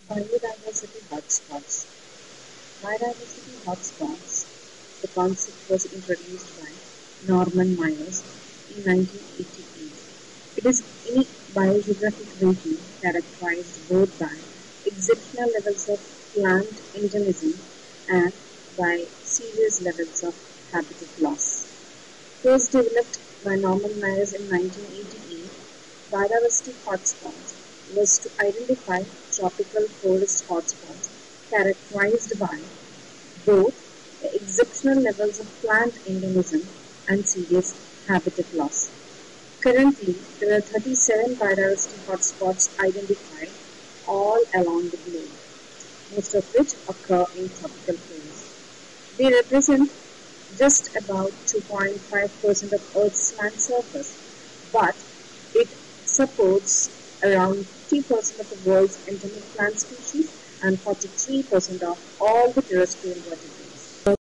Biodiversity hotspots. Biodiversity hotspots. The concept was introduced by Norman Myers in 1988. It is any biogeographic region characterized both by exceptional levels of plant endemism and by serious levels of habitat loss. First developed by Norman Myers in 1988, biodiversity hotspots was to identify tropical forest hotspots characterized by both the exceptional levels of plant endemism and serious habitat loss. Currently, there are 37 biodiversity hotspots identified all along the globe, most of which occur in tropical forests. They represent just about 2.5% of Earth's land surface, but it supports around 50% of the world's endemic plant species and 43% of all the terrestrial vertebrates.